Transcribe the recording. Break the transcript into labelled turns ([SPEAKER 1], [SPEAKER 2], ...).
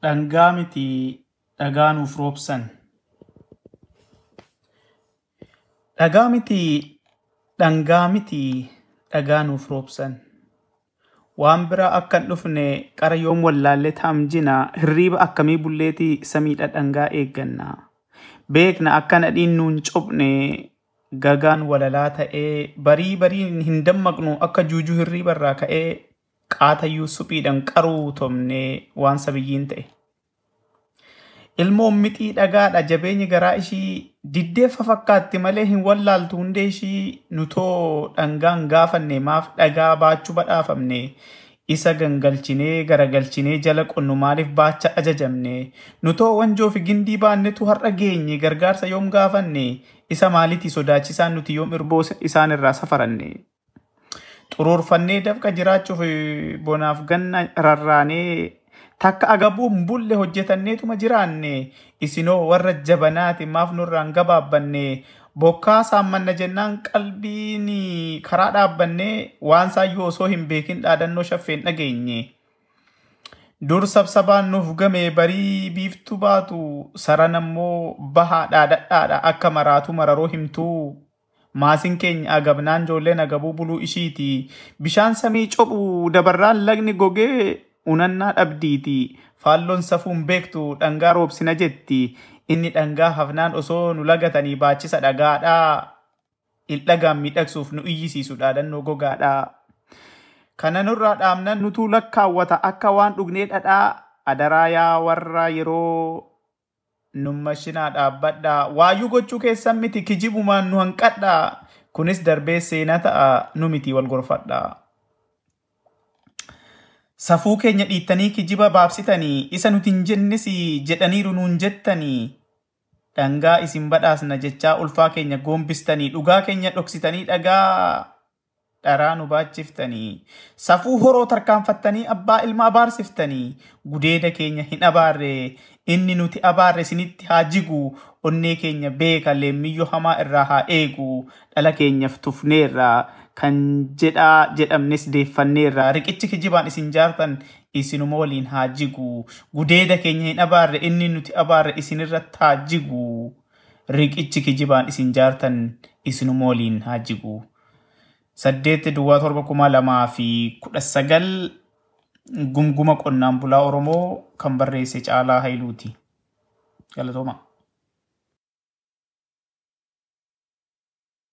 [SPEAKER 1] dhangaa miti dhagaa nuuf roobsan. Dhagaa miti dhangaa miti dhagaa nuuf roobsan. Waan bira akkan dhufne qara yoom wallaalle taamjina hirriiba akkamii bulleetii samiidha dhangaa eegganna. Beekna akkana dhiinnuun cobne gagaan walalaa ta'ee barii hin dammaqnu akka juujuu hirriiba irraa ka'ee qaatayyuu suphiidhaan qaruu tomne waan sabiyyiin ta'e. Ilmoon mixii dhagaadha jabeenyi garaa ishii diddeeffa fakkaatti malee hin wallaaltu hundee ishii nutoo dhangaan gaafanne maaf dhagaa baachuu badhaafamne isa gangalchinee garagalchinee jala qonnu maaliif baacha ajajamne nutoo wanjoo fi gindii baannetu har'a geenye gargaarsa yoom gaafanne isa maalitti sodaachisaan nuti yoom irboo isaan irraa safaranne. Xuruurfannee dafqa jiraachuuf bonaaf ganna rarraanee takka agabuun bulle hojjetanneetuma jiraanne isinoo warra jabanaati maaf nurraan gabaabbanne bokkaa saammanna jennaan qalbiin karaa dhaabbanne waan saayyoo osoo hin beekin dhaadannoo shaffeen dhageenye. Dur sabsabaan nuuf game barii biiftu baatu saran ammoo bahaa dhaadhadhaadha akka maraatu mararoo himtuu. Maasin keenya agabnaan joolleen agabuu buluu ishiiti. Bishaan samii cophu dabarraan lagni gogee unannaa dhabdiiti. Faalloon safuun beektu dhangaa roobsina jetti. Inni dhangaa hafnaan osoo nu lagatanii baachisa dhagaadhaa. Ildhagaan miidhagsuuf nu iyyisiisu dhaadannoo gogaadhaa. Kana nurraa dhaamnan nutuu lakkaawwata akka waan dhugnee dhadhaa. Adaraa yaa warra yeroo nummashinaa dhaabbadha waayyuu gochuu keessan miti kijibumaan nu hanqadha kunis darbee seenaa ta'a nu miti wal gorfadha. Safuu keenya dhiittanii kijiba baabsitanii isa nuti hin jennis jedhaniiru nuun jettanii dhangaa isin badhaasna jechaa ulfaa keenya goombistanii dhugaa keenya dhoksitanii dhagaa dharaa nu baachiftanii safuu horoo tarkaanfattanii abbaa ilma abaarsiftanii gudeeda keenya hin abaarre inni nuti abaarre isinitti haa jigu onnee keenya beeka leemmiyyoo hamaa irraa haa eegu dhala keenyaaf tufneerra kan jedhamnes deeffanneerra riqichi kijibaan isin jaartan isinuma waliin haa jigu gudeeda keenya hin abaarre inni nuti abaarre isinirratti haa jigu riqichi kijibaan isin jaartan isinuma waliin haa jigu. 8/7/2019 gumguma qonnaan bulaa Oromoo kan barreesse Caalaa Hayiluuti. Galatooma.